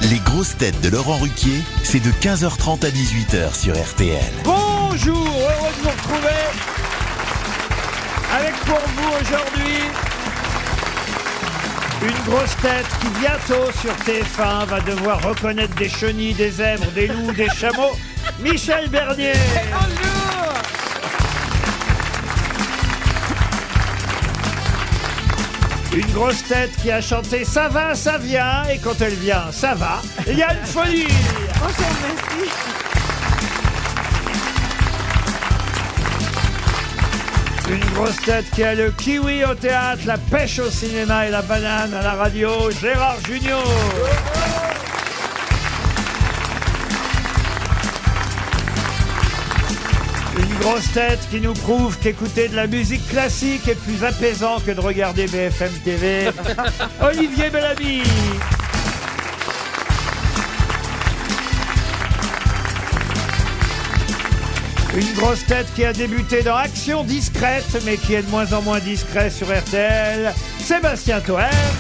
Les grosses têtes de Laurent Ruquier, c'est de 15h30 à 18h sur RTL. Bonjour, heureux de vous retrouver avec pour vous aujourd'hui une grosse tête qui bientôt sur TF1 va devoir reconnaître des chenilles, des zèbres, des loups, des chameaux. Michel Bernier. Bonjour. Une grosse tête qui a chanté Ça va, ça vient, et quand elle vient, ça va. Yann Folie. Bonjour, merci. Une grosse tête qui a le kiwi au théâtre, la pêche au cinéma et la banane à la radio, Gérard Junior. Une grosse tête qui nous prouve qu'écouter de la musique classique est plus apaisant que de regarder BFM TV, Olivier Bellamy. Une grosse tête qui a débuté dans Action discrète, mais qui est de moins en moins discret sur RTL, Sébastien Toen.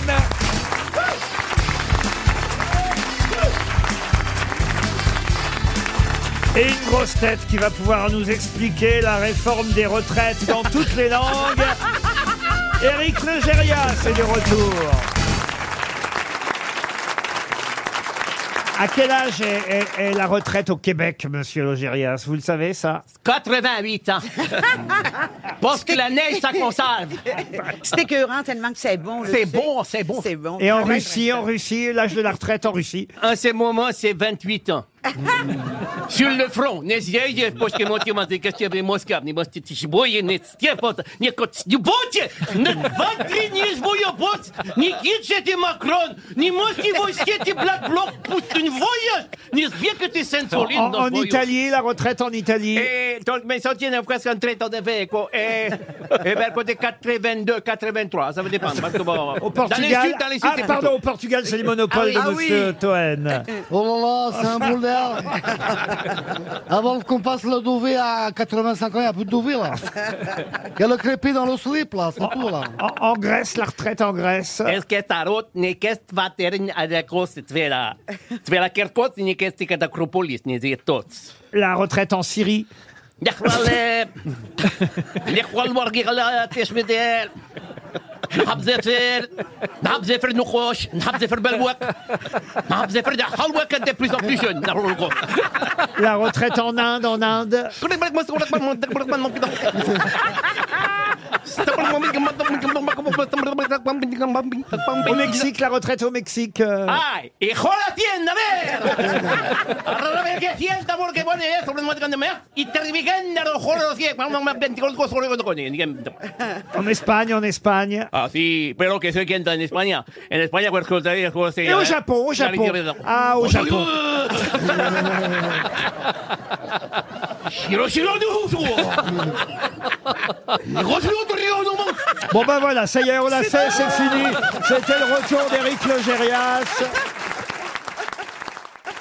Et une grosse tête qui va pouvoir nous expliquer la réforme des retraites dans toutes les langues, Éric Logérias est de retour. À quel âge est la retraite au Québec, monsieur Logérias? Vous le savez, ça? 88 ans. Parce que la neige, ça conserve. C'est écœurant tellement que c'est bon. C'est bon, c'est bon. C'est bon. Et en Russie, l'âge de la retraite en Russie? En ce moment, c'est 28 ans. Sur le front, не зъездишь почки мотивации, костюмы Москва, не мостите бои, не степот, не котстюботи, не ватри, не сбоебот, не китчети Макрон, не мости войскети Black Bloc, пусть не voyage, не сбегайте сенсолин. En Italie, la retraite en Italie. Et donc, mais ça tient presque en traite de faire, quoi. Et vers côté 82, 83, ça va dépendre. Parce que bon, Au Portugal. dans les sud, c'est Pardon, plutôt. au Portugal, c'est le monopole de monsieur Toen. Oh là là, c'est un boule d'air. Avant qu'on passe le Douvet à 85 ans, il n'y a plus de Douvet là. Il y a le crépit dans le slip là, c'est tout là. En Grèce, la retraite en Grèce. Est-ce que ta route n'est qu'est vaterin à la course, tu fais la kerkot, n'est qu'est-ce que t'acropolis, n'est dit tots. La retraite en Syrie. الإخوة الورقية تشمدال نحب زفر نحب زفر نقوش نحب زفر بالوق نحب زفر ده حلوة كده plus en plus jeune La retraite en Inde, Au Mexique, la retraite au Mexique. ¡Ay! ¡Hijo la tienda, a ver! ¡A ver qué tienda porque pone eso! ¡Y te revigan a los joros! En Espagne, en Espagne. Ah, sí, pero que soy quien en España. En España, pues, Et au Japon, au Japon. Ah, au Japon. Bon ben voilà, ça y est, on l'a fait, c'est fini. C'était le retour d'Éric Logérias.